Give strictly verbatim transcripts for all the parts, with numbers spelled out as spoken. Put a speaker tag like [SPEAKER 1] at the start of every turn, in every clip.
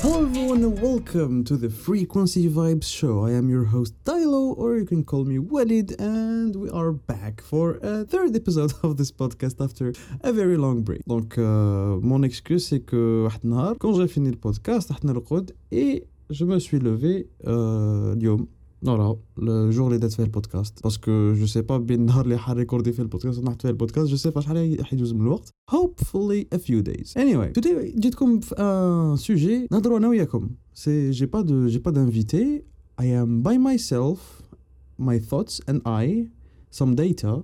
[SPEAKER 1] Hello everyone and welcome to the Frequency Vibes show. I am your host Tylo, or you can call me Walid, and we are back for a third episode of this podcast after a very long break. Donc euh, mon excuse c'est que واحد النهار quand j'ai fini le podcast رحت نرقد et je me suis levé euh, اليوم voilà le jour اللي درت فيه البودكاست parce que je sais pas بين النهار اللي حريكوردي فيه البودكاست ونحط فيه البودكاست je sais pas شحال حيدوز من الوقت. Hopefully a few days. Anyway, today جيتكم في un sujet نهضروا انا وياكم. C'est j'ai pas de j'ai pas d'invité. I am by myself, my thoughts and I, some data.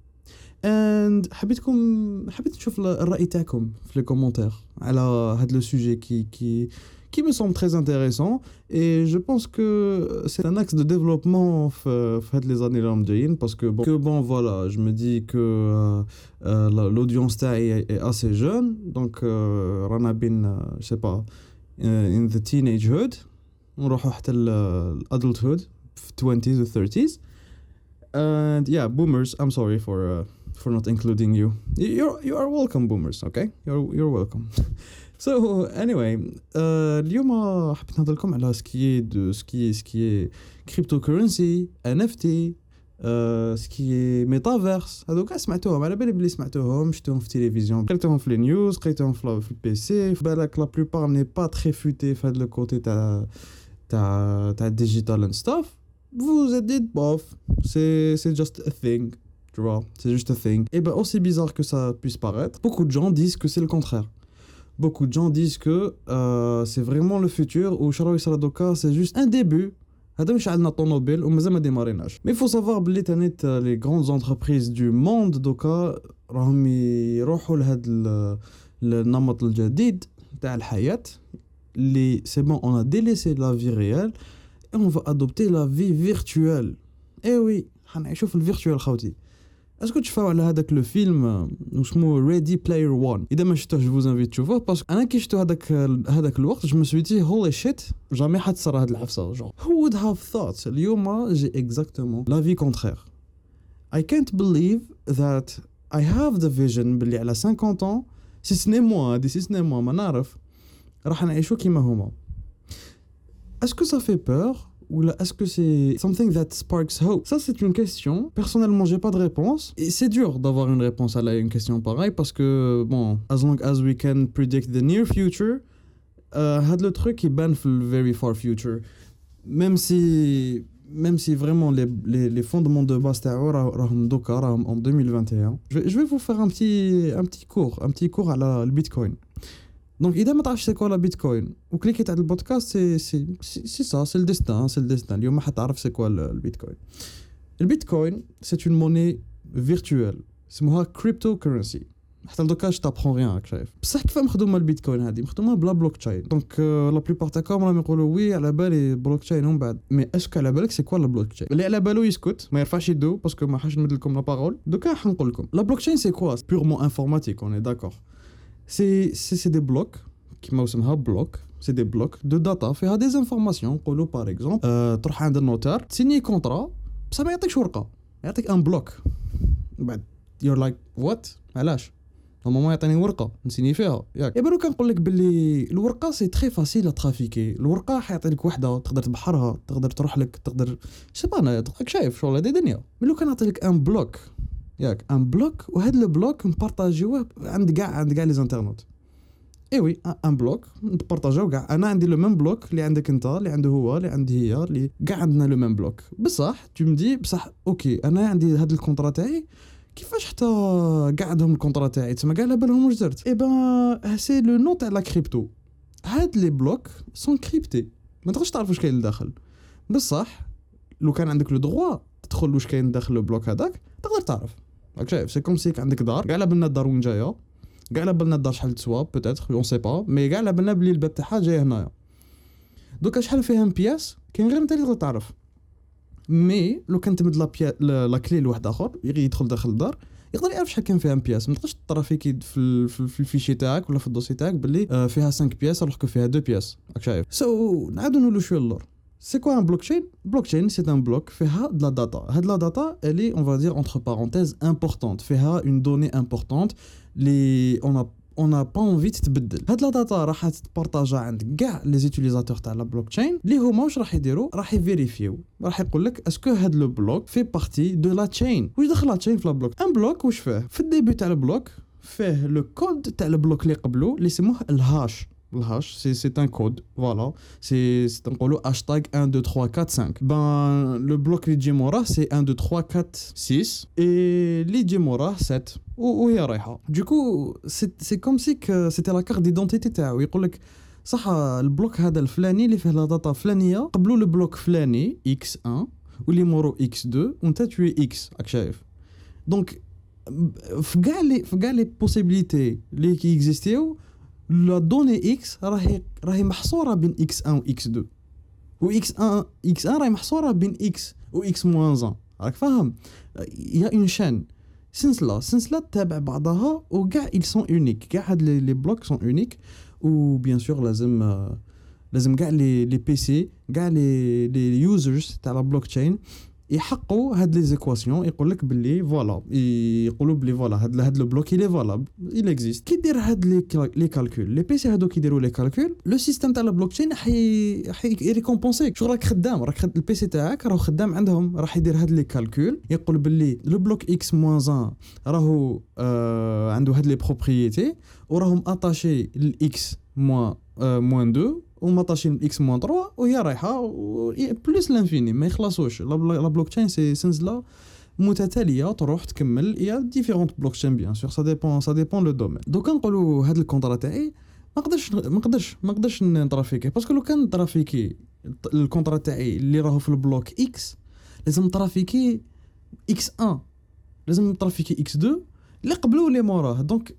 [SPEAKER 1] And حبيتكم حبيت نشوف الرأي تاعكم في les commentaires على هذا le sujet qui qui qui me semble très intéressant et je pense que c'est un axe de développement fait les années là parce que bon, que bon voilà je me dis que euh, euh, l'audience est, est assez jeune donc euh, rana bin euh, je sais pas uh, in the teenagehood نروحوا حتى adulthood twenties or thirties and yeah boomers I'm sorry for uh, for not including you you're you are welcome boomers okay you're you're welcome. So anyway, euh, اليوم حبيت نهضر لكم على سكي دو سكي سكي cryptocurrency إن إف تي euh, سكي ميتافيرس هذوك كاع سمعتوهم على بالي بلي سمعتوهم شفتوهم في التلفزيون قريتهم في النيوز قريتهم في في البي سي بالك لا بلوبار ني با تري فوتي في هذا لو كوتي تاع تاع تاع الديجيتال اند ستاف vous êtes dit bof c'est c'est just a thing tu vois c'est juste a thing et ben aussi bizarre que ça puisse paraître beaucoup de gens disent que c'est le contraire. Beaucoup de gens disent que euh, c'est vraiment le futur ou شراو يصرا دوكا c'est juste un début. هذا مش عندنا طوموبيل ومازال ما ديماريناش. Mais il faut savoir بلي تانيت les grandes entreprises du monde دوكا راهم يروحوا لهذا النمط الجديد تاع الحياة اللي c'est bon on a délaissé la vie réelle et on va adopter la vie virtuelle. Eh oui حنعيشوا في الفيرتوال خوتي. اسكو تشوفوا على هذاك لو فيلم اسمه ريدي بلاير وان اذا ما شفتوه جو انفيت تشوفوه باسكو انا كي شفتو هذاك هذاك الوقت جو مسويتي هولي شيت جامي حتصرى هاد العفسه جو who would have thought اليوم جي اكزاكتومون لا في كونترير I can't believe that I have the vision باللي على cinquante ans سي سني موا دي سي سني موا ما نعرف راح نعيشو كيما هما. اسكو ça fait peur ou là, est-ce que c'est something that sparks hope? Ça, c'est une question. Personnellement, j'ai pas de réponse. Et c'est dur d'avoir une réponse à la, une question pareille parce que, bon, as long as we can predict the near future, euh, had le truc qui banne le very far future. Même si, même si vraiment les, les, les fondements de base en deux mille vingt et un, je vais, je vais vous faire un petit, un petit cours, un petit cours à la, le Bitcoin. Donc, إذا ما تعرفش c'est quoi la Bitcoin ou cliquez على البودكاست c'est c'est c'est ça c'est le destin c'est le destin اليوم ما حتعرف c'est quoi le Bitcoin. Le Bitcoin c'est une monnaie virtuelle اسمها cryptocurrency. حتى لدوكا je t'apprends rien راك شايف بصح كيف مخدومه البيتكوين هذه مخدومه بلا بلوكتشين دونك لا بلوبار تاعكم راهم يقولوا وي على بالي بلوكتشين ومن بعد مي اسكو على بالك سي كوا لا بلوكتشين اللي على بالو يسكت ما يرفعش يدو باسكو ما حاش نمد لكم لا بارول دوكا حنقول لكم لا بلوكتشين سي كوا بيرمون انفورماتيك on est d'accord. C'est, c'est, c'est des blocs qui m'aussemها blocs c'est des blocs de data فيها des informations نقولوا par exemple euh, تروح عند النوتار تسيني كونطرا بصح ما يعطيكش ورقه يعطيك ان بلوك بعد you're like what علاش نورمالمون يعطيني ورقه نسيني فيها ياك يبانو كنقول لك باللي الورقه سي تري فاسيل ترافيكي الورقه حيعطي لك وحده تقدر تبحرها تقدر تروح لك تقدر شي با انا راك شايف شغل هذه دنيا مي لو كان نعطي لك ان بلوك ياك ان بلوك وهذا البلوك نبارطاجيوه عند كاع عند كاع لي انترنت اي وي ان بلوك نبارطاجيو كاع انا عندي لو ميم بلوك اللي عندك انت اللي عنده هو اللي عندي هي اللي كاع عندنا لو ميم بلوك بصح تو مدي بصح اوكي انا عندي هذا الكونطرا تاعي كيفاش حتى كاع عندهم الكونطرا تاعي تما كاع على بالهم واش درت اي با سي لو نو تاع لا كريبتو هاد لي بلوك سون كريبتي ما تقدرش تعرف واش كاين لداخل بصح لو كان عندك لو دروا تدخل واش كاين داخل البلوك هذاك تقدر تعرف راك شايف سي كوم سيك عندك دار كاع على بالنا الدار وين جايه كاع على بالنا الدار شحال تسوا بوتيتر اون سي با مي كاع على بالنا بلي الباب تاعها جاي هنايا دوكا شحال فيها بياس كاين غير انت اللي تقدر تعرف مي لو كان تمد لا بيا لا كلي لواحد اخر يدخل داخل الدار يقدر يعرف شحال كان فيها بياس ما تقدرش ترافيكي في في الفيشي تاعك ولا في الدوسي تاعك باللي فيها خمسة بياس alors que فيها deux بياس راك شايف سو نعاودو نقولوا شويه اللور C'est quoi un blockchain? Blockchain, c'est un bloc fait de la data. De la data, elle est, on va dire, entre parenthèses, importante. Fait une donnée importante. Les, on a on n'a pas envie تتبدل. هاد لا داتا راح تبارطاجا عند كاع لي زوتيليزاتور تاع لا بلوك تشين اللي هما واش راح يديروا راح يفيريفيو راح يقول لك اسكو هاد لو بلوك في بارتي دو لا تشين. واش دخل لا تشين في لا بلوك؟ ان بلوك واش فيه في الديبي تاع البلوك فيه لو كود تاع البلوك اللي قبلو اللي يسموه الهاش. الهاش سي سي ان كود فوالا سي سي نقولوا هاشتاغ واحد اثنين ثلاثة أربعة خمسة. بان لو بلوك اللي يجي موراه سي واحد اثنين ثلاثة أربعة ستة اي اللي يجي موراه سبعة وهي رايحه. دوكو سي سي كوم سي ك سيتي لا كارت ديدونتيتي تاعو. يقول لك صح البلوك هذا الفلاني اللي فيه لا داتا فلانيه قبلوا البلوك فلاني اكس واحد واللي مورو اكس اثنين وانت توي اكس راك شايف. دونك في كاع لي في كاع لي بوسيبيليتي اللي كيكزيستيو لا دوني اكس راهي راهي محصوره بين اكس واحد و اكس اثنين و اكس واحد اكس واحد راهي محصوره بين اكس و اكس موان واحد. راك فاهم؟ يا اون شان سلسله سلسله تابع بعضها وكاع ils sont uniques. كاع هاد لي بلوك sont uniques و بيان سور لازم لازم كاع لي لي بي سي كاع لي لي يوزرز تاع لا بلوك تشين يحقوا هاد لي زيكواسيون. يقول لك باللي فوالا يقولوا باللي فوالا هاد هاد لو بلوك يلي فالابل il existe. كي دير هاد لي لي كالكول لي بي سي هادو كيديروا لي كالكول لو سيستم تاع لا بلوك تشين حي حي ريكومبونسيك. شغل راك خدام راك خد البي سي تاعك راه خدام عندهم راح يدير هاد لي كالكول. يقول باللي لو بلوك اكس موان واحد راهو آه عنده هاد لي بروبريتي وراهم اتاشي للاكس موان موان اثنين ومطاشين اكس موان ثلاثة وهي رايحه بلس لانفيني ما يخلصوش. لا بلوك تشين سي سلسله متتاليه تروح تكمل. يا ديفيرونت بلوك تشين بيان سور سا ديبون سا ديبون لو دومين. دوكا نقولوا هذا الكونطرا تاعي ما نقدرش ما نقدرش ما نقدرش نترافيكي باسكو لو كان نترافيكي الكونطرا تاعي اللي راهو في البلوك اكس لازم نترافيكي اكس واحد لازم نترافيكي اكس اثنين اللي قبلو اللي موراه. دونك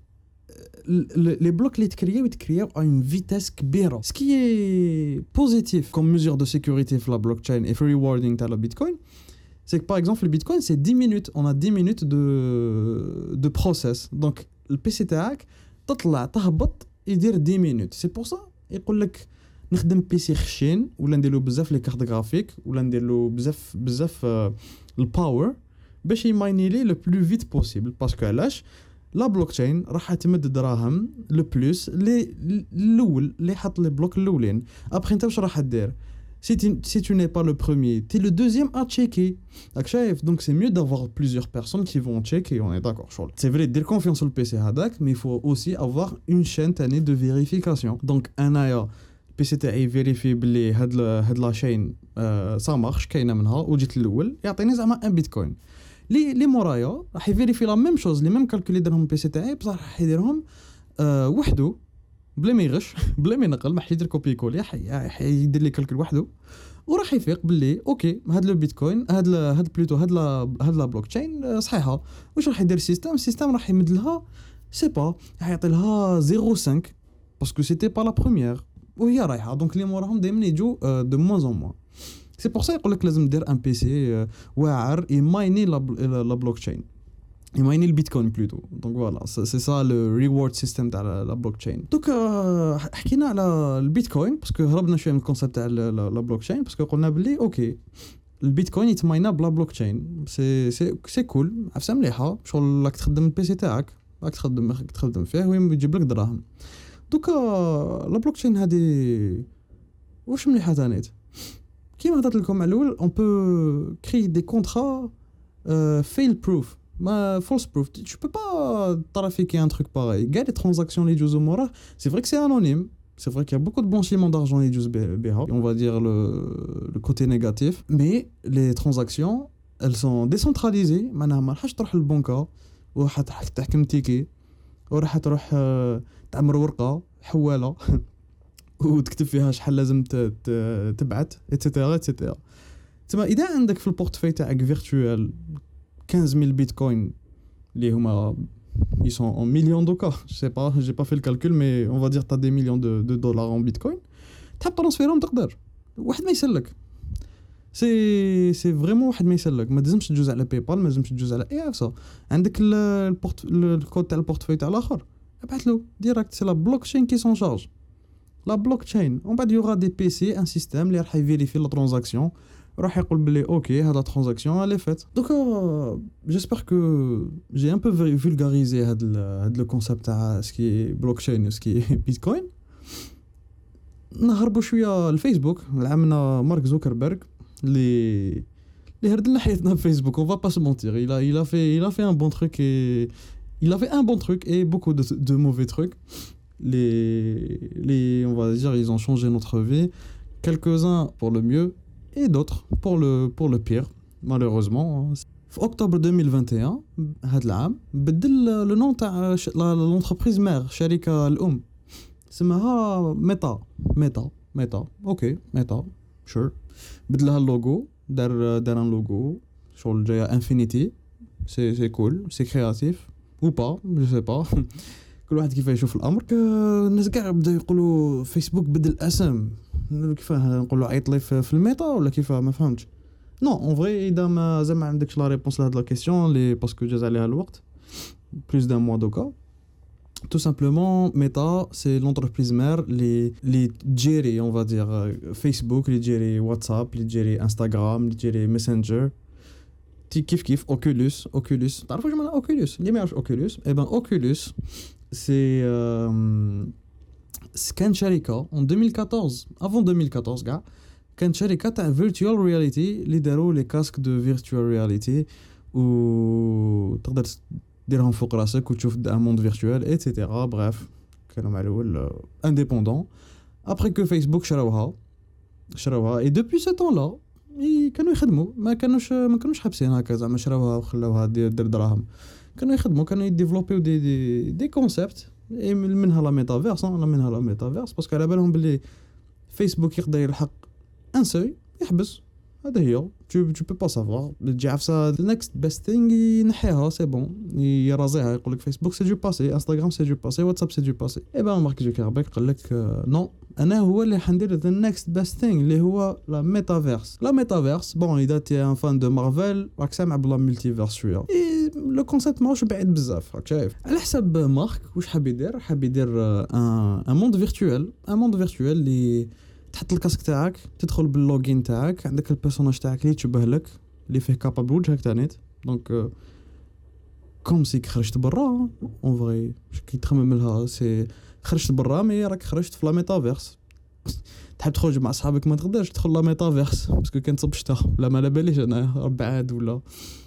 [SPEAKER 1] les blocs les créés créés à une vitesse كبيرة. Ce qui est positif comme mesure de sécurité sur la blockchain et for rewarding à la Bitcoin, c'est que par exemple le Bitcoin c'est dix minutes, on a dix minutes de de process. Donc le P C تاعك تطلع تهبط يدير dix minutes. C'est pour ça يقول لك نخدم بي سي خشين ولا نديرلو بزاف لي كارت غرافيك ولا نديرلو بزاف بزاف الباور باش يمايني لي لو بلو فيت بوسيبل. باسكو علاش لا بلوك تشين راح تمد دراهم لو بلوس لي الاول اللي حط لي بلوك الاولين. ابخي انت واش راح دير سي تي سي تو ني با لو بروميير تي لو دوزيام ا تشيكي راك شايف. دونك سي ميو دافوار بليزيور بيرسون كي فون تشيكي اون اي داكور شغل سي فري دير كونفيونس في البي سي هذاك مي فو اوسي افوار اون شين تاني دو فيريفيكاسيون. دونك انايا البي سي تاعي فيريفي بلي هاد هاد لا شين سا مارش كاينه منها وجيت الاول يعطيني زعما ان بيتكوين. لي لي مورايا راح يفيريفي لا ميم شوز لي ميم كالكول يديرهم البي سي تاعي بصح راح يديرهم أه وحده بلا ما يغش بلا ما ينقل ما يدير كوبي كول يدير لي كالكول وحده وراح يفيق باللي اوكي هاد لو بيتكوين هاد هاد بلوتو هاد لا هاد لا بلوك تشين صحيحه. واش راح يدير السيستم السيستم راح يمد لها سي با راح يعطي لها صفر فاصلة خمسة باسكو سيتي با لا بروميير وهي رايحه. دونك لي موراهم دائما يجوا دو موان اون موان. سي بور سا يقول لك لازم دير ان بي سي واعر يمايني لا بلوك تشين يمايني البيتكوين بلوتو. دونك فوالا سي سا لو ريورد سيستم تاع لا بلوك تشين. دوك حكينا على البيتكوين باسكو هربنا شويه من الكونسيبت تاع لا بلوك تشين باسكو قلنا بلي اوكي البيتكوين يتماينا بلا بلوك تشين سي سي سي كول عفسه مليحه شغل راك تخدم البي سي تاعك راك تخدم تخدم فيه ويجيب لك دراهم. دوكا لا بلوك تشين هذه واش مليحه ثانيت كيما هضرت لكم على الاول اون بو كري دي كونطرا فيل بروف ما فولس بروف. tu peux pas trafiquer un truc pareil. كاع لي ترانزاكسيون اللي يجوزو موراه سي فري كو سي انونيم سي فري كي beaucoup de blanchiment d'argent اللي يجوز بها on va dire le le côté négatif mais les transactions elles sont décentralisées. معناها ما راحش تروح للبنكه وراح تحكم تيكي وراح تروح تعمر ورقه حواله وتكتب فيها شحال لازم تبعت ايتترا ايتترا. تما اذا عندك في البورتفوي تاعك فيرتوال خمسة آلاف بيتكوين اللي هما ils sont en millions de cas je sais pas j'ai pas fait le calcul mais on va dire t'as des millions de, de dollars en bitcoin تحب ترانسفيرهم تقدر واحد ما يسلك سي سي فريمون واحد ما يسلك. ما لازمش تجوز على باي بال ما لازمش تجوز على اي اف. عندك البورت الكود تاع البورتفوي تاع الاخر ابعث له ديريكت سي لا بلوك تشين كي سون شارج la blockchain. On va dire des P C, un système qui va vérifier la transaction. راح يقول بلي اوكي هذا ترانزاكسيون اللي فات. دوكا جيسبر كو جي ان بو فولغاريزي هاد هاد لو كونسيبت تاع سكي بلوكشين وسكي بيتكوين. نهربوا شويه الفيسبوك لعمنا مارك زوكربيرغ اللي اللي هرد لنا حياتنا بفيسبوك. اون فا با سو مونتير il a il a fait il a fait un bon truc et il a fait un bon truc et beaucoup de de mauvais trucs. les les on va dire ils ont changé notre vie, quelques-uns pour le mieux et d'autres pour le pour le pire malheureusement. في octobre deux mille vingt et un هاد العام بدل لو نون تاع l'entreprise mère الشركه الام اسمها ميتا ميتا ميتا اوكي ميتا شور بدلها اللوغو دار دار ان لوغو شغل جايه انفينيتي. سي سي كول سي كرياتيف ou pas je sais pas كل واحد كيف يشوف الامر. الناس كاع بداو يقولوا فيسبوك بدل اسم كيفاه نقولوا عيط لي في الميتا ولا كيفاه ما فهمتش. نو اون فري اذا ما زعما عندكش لا ريبونس لهاد لا كيسيون لي باسكو جاز عليها الوقت بلوس دان موا دوكا. Tout simplement, Meta, c'est l'entreprise mère, les, les gérer, on va dire, Facebook, les gérer WhatsApp, les gérer Instagram, les gérer Messenger. Ti kif kif, Oculus, Oculus. T'as vu comment Oculus? L'image Oculus. Eh ben, Oculus, c'est euh, Scan Sharika en deux mille quatorze. Avant deux mille quatorze, gars. Scan Sharika, t'as virtual reality, les déros, les casques de virtual reality, ou t'as ديرهم فوق راسك وتشوف ان موند فيرتوال ايتترا. بريف كانوا مع الاول انديبوندون. ابري كو فيسبوك شراوها شراوها اي دوبي سو طون لا كانوا يخدموا ما كانوش ما كانوش حابسين هكا زعما شراوها وخلاوها دير دراهم. كانوا يخدموا كانوا يديفلوبيو دي دي دي كونسيبت منها لا ميتافيرس لا منها لا ميتافيرس باسكو على بالهم بلي فيسبوك يقدر يلحق ان سوي يحبس. هذا هي tu tu peux pas savoir تجي عفسه the next best thing ينحيها سي بون يرازيها يقول لك فيسبوك سي دو باسي انستغرام سي دو باسي واتساب سي دو باسي. اي بان مارك زوكربيرغ قال لك نو انا هو اللي حندير the next best thing اللي هو لا ميتافيرس. لا ميتافيرس بون اذا تي ان فان دو مارفل راك سامع بلا ملتيفيرس شويه اي لو كونسيبت ماهوش بعيد بزاف راك شايف. على حسب مارك واش حاب يدير حاب يدير ان ان موند فيرتوال ان موند فيرتوال اللي تحط الكاسك تاعك تدخل باللوغين تاعك عندك البيرسوناج تاعك اللي تشبه لك اللي فيه كابابل وجهك تانيت دونك كوم سي خرجت برا اون فري كي تخمم لها سي خرجت برا مي راك خرجت في لا ميتافيرس. تحب تخرج مع اصحابك ما تقدرش تدخل لا ميتافيرس باسكو كان تصب شتا لا ما على باليش انا ربعاد ولا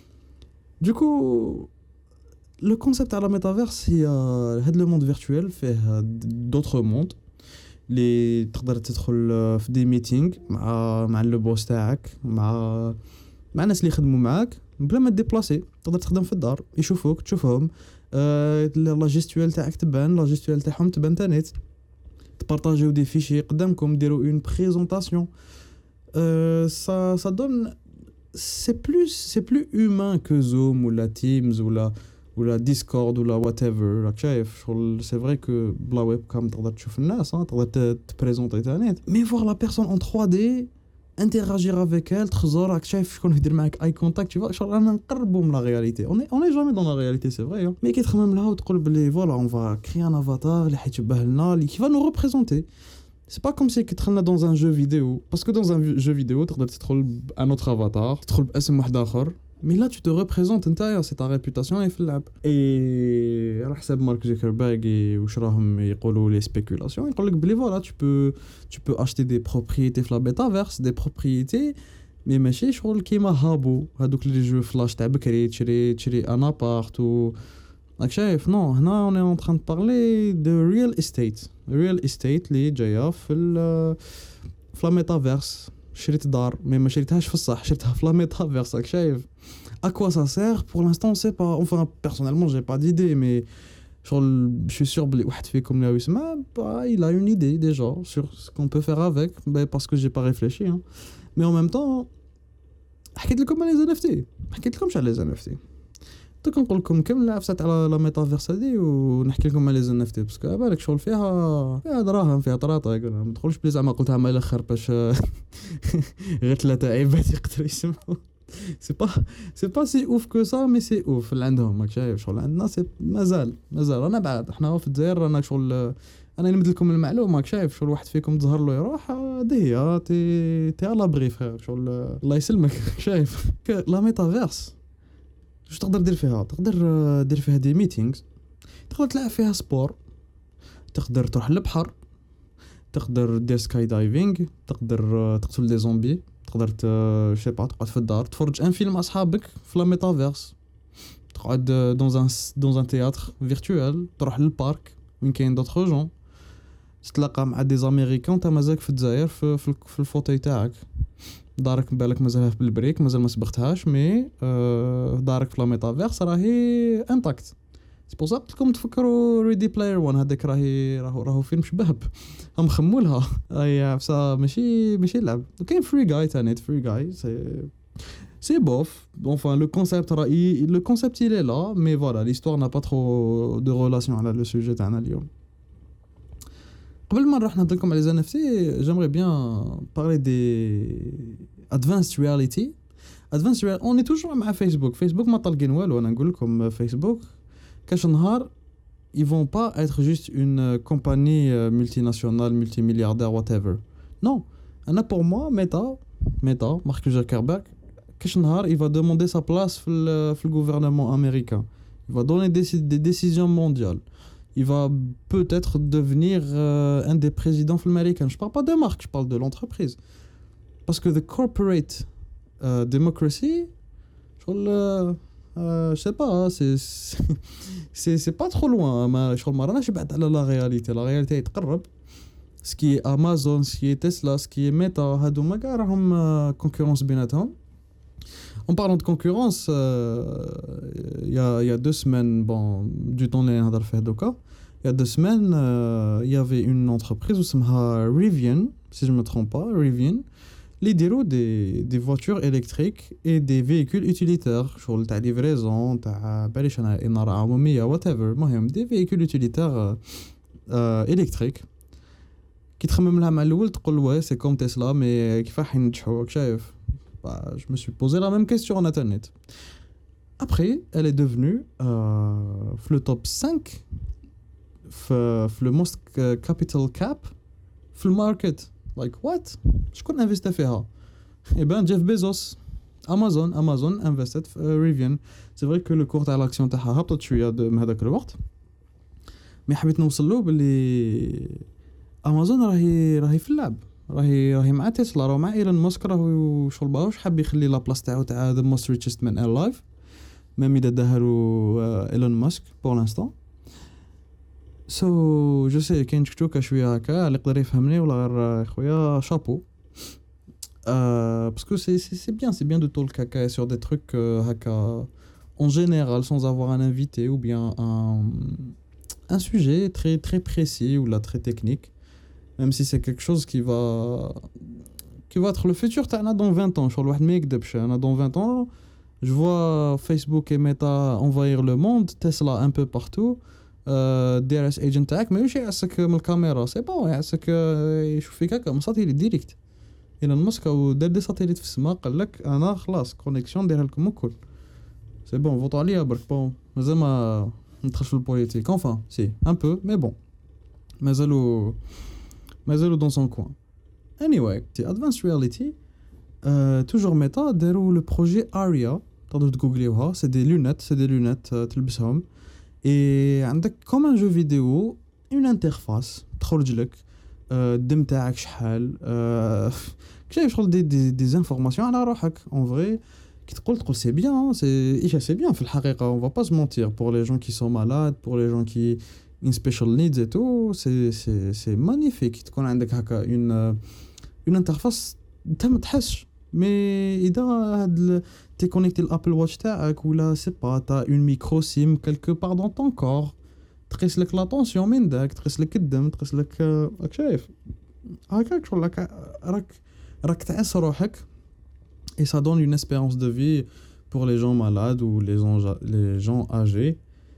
[SPEAKER 1] دوكو. لو كونسيبت تاع لا ميتافيرس هي هاد لو موند فيرتوال فيه دوطخ موند اللي تقدر تدخل في دي ميتينغ مع مع لو بوس تاعك مع مع الناس اللي يخدموا معاك بلا ما ديبلاسي. تقدر تخدم في الدار يشوفوك تشوفهم أه لا جيستوال تاعك تبان لا جيستوال تاعهم تبان تانيت تبارطاجيو دي فيشي قدامكم ديروا اون بريزونطاسيون أه ça ça donne c'est plus c'est plus humain que Zoom ou la Teams ou la ولا ديسكورد ولا واتيفر راك شايف شغل. سي فري كو بلا ويب كام تقدر تشوف الناس تقدر تبريزونطي تانيت مي فوغ لا بيرسون اون ثري دي انتراجير افيك ال تخزر راك شايف شكون يدير معاك اي كونتاكت شوف شغل انا نقربوا من لا رياليتي اون اون جامي دون لا رياليتي سي فري مي كي تخمم لها وتقول بلي فوالا اون فا كري ان افاتار اللي حيتشبه لنا اللي كيفا نو ريبريزونتي. C'est pas comme si que دخلنا dans un jeu vidéo parce que dans un jeu vidéo تقدر تدخل بان اوتر افاتار تدخل باسم واحد اخر mais là tu te représentes نتايا c'est ta réputation في اللعب. et على حسب مارك زوكربيرغ واش راهم يقولوا لي سبيكولاسيون يقول لك بلي فوالا tu peux tu peux acheter des propriétés في la metaverse des propriétés mais ماشي شغل كيما هابو هذوك لي جو فلاش تاع بكري تشري تشري ان ابارت و راك شايف. نو هنا on est en train de parler de real estate real estate اللي جايه في في la metaverse. شريت دار مي ما شريتهاش في الصح شريتها في لا ميتافيرس راك شايف. à quoi ça sert pour l'instant c'est pas enfin personnellement j'ai pas d'idée mais شغل je suis sûr بلي واحد فيكم اللي يسمع il a une idée déjà sur ce qu'on peut faire avec bah, parce que j'ai pas réfléchi hein. mais en même temps حكيت لكم على les إن إف تي حكيت لكمش على les إن إف تي دوك نقول لكم كم عفسات على لا ميتافيرس هذه ونحكي لكم على les إن إف تي باسكو بالك شغل فيها فيها دراهم فيها طراطا ما تدخلوش بلي زعما قلتها مع الاخر باش غير ثلاثه عيبات يقدروا يسمعوا. سي با سي با سي اوف كو سا مي سي اوف اللي عندهم راك شايف شغل عندنا سي مازال مازال انا بعد احنا في الجزائر رانا شغل انا نمد لكم المعلومه شايف شغل واحد فيكم تظهر له يروح هذه هي تي تي على بغي فخير شغل الله يسلمك شايف لا ميتافيرس واش تقدر دير فيها تقدر دير فيها دي ميتينغز تقدر تلعب فيها سبور تقدر تروح للبحر تقدر دير سكاي دايفينغ تقدر تقتل دي زومبي تقدر شي با تقعد في الدار تفرج ان فيلم مع اصحابك في لا ميتافيرس تقعد دون ان دون ان تياتر فيرتوال تروح للبارك وين كاين دوطخ جون تتلاقى مع دي زاميريكان انت مازالك في الجزائر في, في, في الفوتي تاعك دارك بالك مازالها في البريك مازال ما سبقتهاش مي آه دارك في لا ميتافيرس راهي انتاكت سي بور سا قلت لكم تفكروا ريدي بلاير واحد هذاك راهي راهو راهو فيلم شباب هم خمولها اي بصح ماشي ماشي لعب وكاين فري جاي تاني فري جاي سي سي بوف enfin le concept راهي le concept il est là mais voilà l'histoire n'a pas trop de relation على le sujet تاعنا اليوم قبل ما نروح نهضر لكم على les إن إف تي j'aimerais bien parler des advanced reality advanced reality on est toujours مع فيسبوك فيسبوك ما طالقين والو انا نقول لكم فيسبوك كاش نهار ils vont pas être juste une compagnie multinationale multimilliardaire whatever non انا pour moi Meta Meta Mark Zuckerberg كاش نهار il va demander sa place في le, في le gouvernement américain il va donner des, des décisions mondiales il va peut-être devenir euh, un des présidents américains. Je parle pas de marque, je parle de l'entreprise. Parce que the corporate euh, democracy, je euh, euh, je sais pas, hein, c'est, c'est c'est pas trop loin. Mais je crois que je بعد على la réalité. La réalité est تقرب. Ce qui est Amazon, ce qui est Tesla, ce qui est Meta, هادو ما كاع راهم concurrence بيناتهم. En parlant de concurrence, il euh, y, a, y a deux semaines, bon, du temps les نهضر فيه دوكا. Il y a deux semaines, il euh, y avait une entreprise où s'appelle Rivian, si je ne me trompe pas, Rivian, qui déroule des, des voitures électriques et des véhicules utilitaires, genre la livraison, whatever, des véhicules utilitaires euh, euh, électriques. Qui تخمم لها مع الأول تقول ouais c'est comme Tesla mais كيفاش ينجحوا شايف bah, je me suis posé la même question en internet. Après, elle est devenue euh, le top cinq le most capital cap في market. Like what? شكون انفيستا فيها؟ Eh ben Jeff Bezos. Amazon Amazon invested في Rivian. C'est vrai que le cours تاع l'action تاعها هبطت شويه من هذاك الوقت. مي حبيت نوصل له باللي امازون راهي راهي في اللعب راهي راهي مع تسلا راه مع ايلون ماسك راهو شغل باوش حاب يخلي لا بلاص تاعو تاع ذا موست ريتشست مان الايف ميم اذا دهرو ايلون ماسك بور لانستون سو جو سي كاين تشكوكا شويه هكا اللي يقدر يفهمني ولا غير خويا شابو euh, parce que c'est c'est c'est bien c'est bien de talk caca sur des trucs euh, haka en général sans avoir un invité ou bien un un sujet très très précis ou là très technique même si c'est quelque chose qui va qui va être le futur تاعنا dans vingt ans شغل واحد ما يكذبش انا dans vingt ans je vois Facebook et Meta envahir le monde Tesla un peu partout دي ار اس ايجنت تاعك ماشي يعسك من الكاميرا سي بون يعسك يشوف فيك هكا من ساتيليت ديريكت ايلون ماسك ودار دي ساتيليت في السماء قال لك انا خلاص كونيكسيون نديرها لكم الكل سي بون فوتو عليا برك بون مازال ما ندخلش في البوليتيك انفان سي ان بو مي بون مازالو مازالو دون سون كوين anyway c'est advanced reality euh, toujours Meta داروا le projet Aria تقدروا تجوجليوها c'est des lunettes c'est des lunettes uh, تلبسهم et عندك comme un jeu vidéo une interface تخرج لك الدم تاعك شحال كيفاش شغل دي دي دي انفورماسيون على روحك en vrai كي تقول تقول c'est bien c'est ايش c'est bien في الحقيقه on va pas se mentir pour les gens qui sont malades pour les gens qui in special needs et tout c'est c'est c'est magnifique تكون عندك هكا une une interface انت ما تحسش مي اذا هاد t'es connecté l'Apple Watch تاعك ولا سي با تا اون ميكرو سيم quelque part dans ton corps تقيس لك لا طونسيون من داك تقيس لك الدم تقيس لك راك شايف هكاك شغل راك راك راك تعس روحك et ça donne une espérance de vie pour les gens malades ou les gens les gens âgés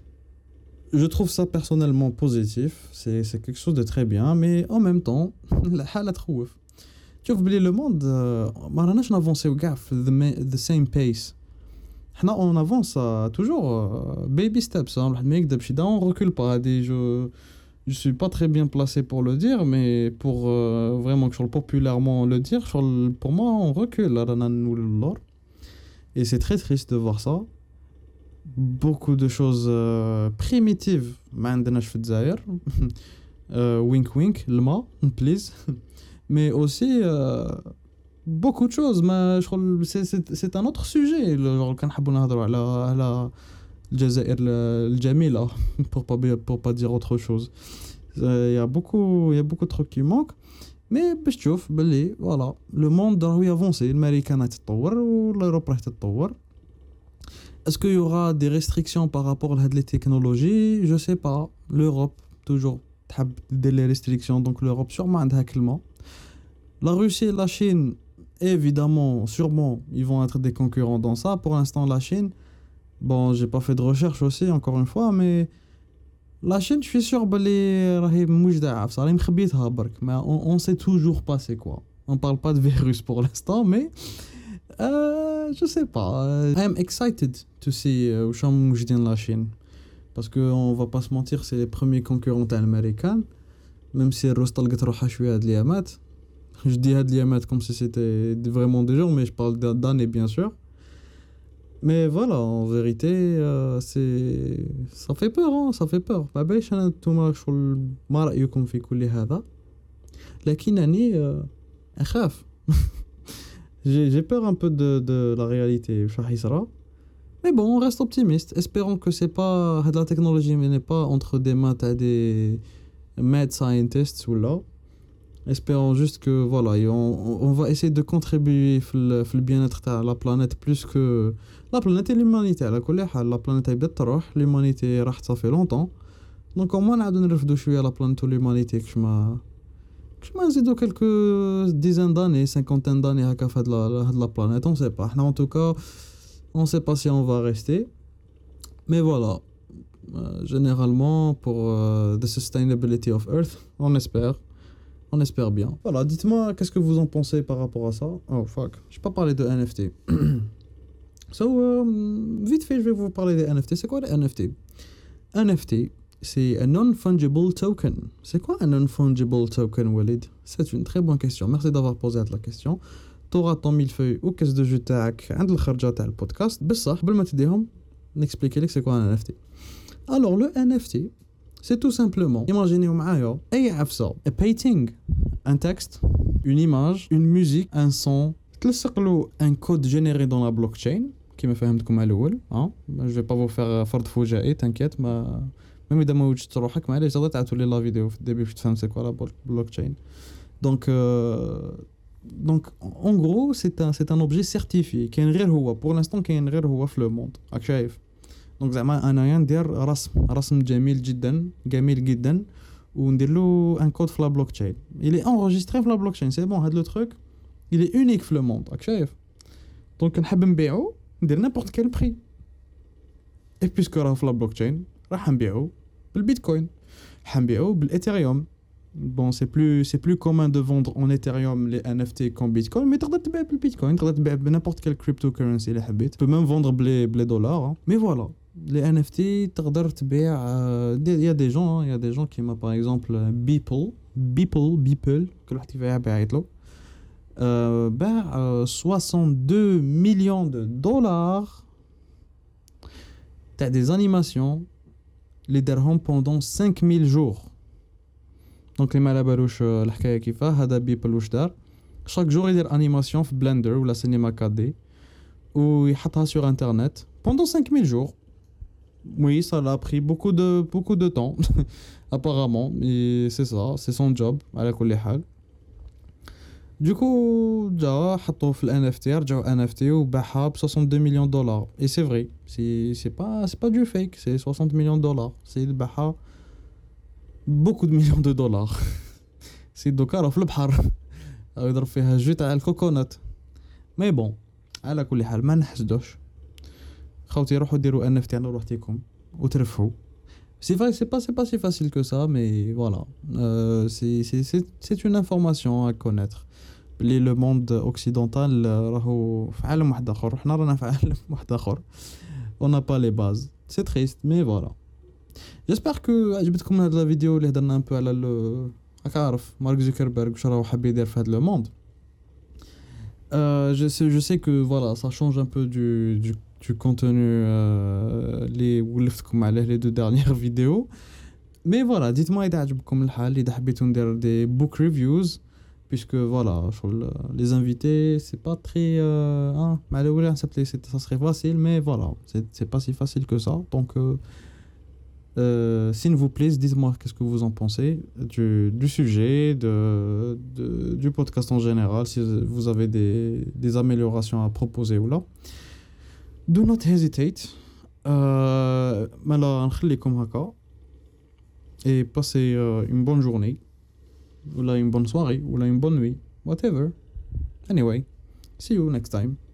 [SPEAKER 1] je trouve ça personnellement positif c'est c'est quelque chose de très bien mais en même temps الحاله تخوف شوف بلي لو موند ما راناش نافونسيو كاع في the same pace حنا on avance toujours baby steps الواحد ما يكذبش دا on recule pas هادي جو je suis pas très bien placé pour le dire, mais pour euh, vraiment que je populairement le dire, pour moi, on recule. Et c'est très triste de voir ça. Beaucoup de choses euh, primitives. ما عندناش في الجزائر. euh, wink wink, الماء, please. Mais aussi euh, beaucoup de choses. ما شغل c'est c'est c'est un autre sujet. genre كنحبوا نهضروا على على الجزائر الجميلة pour pas pour pas dire autre chose. Il y a beaucoup il y a beaucoup de trucs qui manquent. Mais باش تشوف باللي voilà le monde راهو يافونسي. الامريكان تتطور والاوروبا راح تتطور. Est-ce qu'il y aura des restrictions par rapport à les technologies? Je sais pas. L'Europe toujours تحب دير les restrictions, donc l'Europe sûrement عندها كلمة. La Russie et la Chine, évidemment, sûrement, ils vont être des concurrents dans ça. Pour l'instant, la Chine, bon, j'ai pas fait de recherche aussi, encore une fois, mais la Chine, je suis sûr بلي راهي موجدة عفسة راهي مخبيتها برك. Mais on, on sait toujours pas c'est quoi. On parle pas de virus pour l'instant, mais euh, je sais pas. I am excited to see où sont موجدين la Chine. Parce que on va pas se mentir, c'est les premiers concurrents américains. Même si الروس طلقت روحها شوية هاد اليامات. Je dis هاد اليامات comme si c'était vraiment des jours, mais je parle d'années bien sûr. Mais voilà, en vérité, euh, c'est ça fait peur, hein, ça fait peur. ما باش انا نتوما شغل ما رأيكم في كل هذا. لكنني اخاف. j'ai j'ai peur un peu de de la réalité واش راح يصرى. Mais bon, on reste optimiste. Espérons que c'est pas la technologie mais n'est pas entre des mains à des mad scientists ou là. Espérons juste que voilà, on, on va essayer de contribuer في le bien-être de la planète plus que la planète et l'humanité. على كل حال la planète بدات تروح, l'humanité راحت ça fait longtemps. Donc au moins نعاودو نرفدو شويه la planète et l'humanité كش ما كش ما نزيدو quelques dizaines d'années, cinquantaine d'années هكا في هاد la هاد la planète, on sait pas. احنا en tout cas on sait pas si on va rester. Mais voilà, euh, généralement pour euh, the sustainability of Earth, on espère. On espère bien. Voilà, dites-moi, qu'est-ce que vous en pensez par rapport à ça? Oh, fuck. Je n'ai pas parlé de N F T. So, euh, vite fait, je vais vous parler des N F T. C'est quoi les N F T? N F T, c'est un non-fungible token. C'est quoi un non-fungible token, Walid? C'est une très bonne question. Merci d'avoir posé la question. Tu auras ton millefeuille ou caisse de jeu تاعك عند الخرجة تاع البودكاست. بصح قبل ما تديهم نexpliquer لك c'est quoi un N F T. Alors, le N F T, c'est tout simplement, imaginez معايا أي عفسة, a painting, un texte, une image, une musique, un son, تلصقلو un code généré dans la blockchain, كيما فهمتكم على الأول, hein? Je vais pas vous faire فرض فجائي, t'inquiète, ما même إذا ما وجدت روحك معليش تقدر تعاودوا لي لا فيديو في الديبي باش تفهم c'est quoi la blockchain. Donc, euh, donc en gros, c'est un, c'est un objet certifié, كاين غير هو, pour l'instant كاين غير هو في le monde, راك شايف. دونك زعما انايا ندير رسم رسم جميل جدا جميل جدا وندير له ان كود في لا بلوك تشين. il est enregistré في لا بلوك تشين, سي بون. هاد لو تروك il est unique في لو موند, راك شايف. دونك نحب نبيعو ندير نابورت كيل بري, اي بيسكو راه في لا بلوك تشين راح نبيعو بالبيتكوين, حنبيعو بالايثيريوم. Bon, c'est plus c'est plus commun de vendre en Ethereum les N F T qu'en Bitcoin, mais تقدر تبيع بالبيتكوين, تقدر تبيع بنابورت كيل cryptocurrency اللي حبيت. Tu peux même vendre بلي بلي دولار. Mais voilà, les N F T تقدر تبيع. Il y a des gens, il y a des gens qui m'a par exemple Beeple, Beeple, Beeple, كل واحد كيف يعيط له, باع soixante-deux millions de dollars. T'as des animations les درهم pendant cinq mille jours. دونك اللي ما على بالوش الحكايه كيفاه, هذا بيبل واش دار, chaque jour يدير انيماسيون في بلندر ولا سينما quatre D ويحطها sur internet pendant cinq mille jours. Oui, ça l'a pris beaucoup de beaucoup de temps apparemment, et c'est ça, c'est son job على كل حال. Du coup, جا حطوه في ال N F T, رجعوا N F T وباعها ب soixante-deux millions de dollars. Et c'est vrai, c'est c'est pas c'est pas du fake, c'est soixante millions de dollars. C'est باعها beaucoup de millions de dollars. سي دوكا راه في البحر يضرب فيها جو تاع الكوكونات. مي بون على كل حال ما نحسدوش خوتي, روحوا ديروا ان اف تي على روحتكم وترفحوا. سي فاي سي با سي با سي فاسيل كو سا, مي فوالا سي سي سي سي اون انفورماسيون ا كونيتر بلي لو موند اوكسيدونتال راهو في عالم واحد اخر, حنا رانا في عالم واحد اخر. on n'a pas les bases, c'est triste mais voilà. جيسبر كو عجبتكم هاد لا فيديو اللي هضرنا ان بو على ال راك عارف مارك زوكربيرغ واش راهو حاب يدير في هاد لو موند. Euh, je sais, je sais que voilà, ça change un peu du, du, du contenu euh, les ولفتكم عليه les deux dernières vidéos. Mais voilà, dites-moi إذا عجبكم الحال إذا حبيتوا ندير des book reviews puisque voilà, شغل, les invités c'est pas très euh, hein, مع الأولى حسبت ça serait facile mais voilà, c'est c'est pas si facile que ça. Donc euh, Euh, s'il vous plaît, dites-moi qu'est-ce que vous en pensez du, du sujet, de, de, du podcast en général, si vous avez des, des améliorations à proposer ou là. Do not hesitate. Euh, مالا نخليكم هكا. Et passez euh, une bonne journée, ou là une bonne soirée, ou là une bonne nuit, whatever. Anyway, see you next time.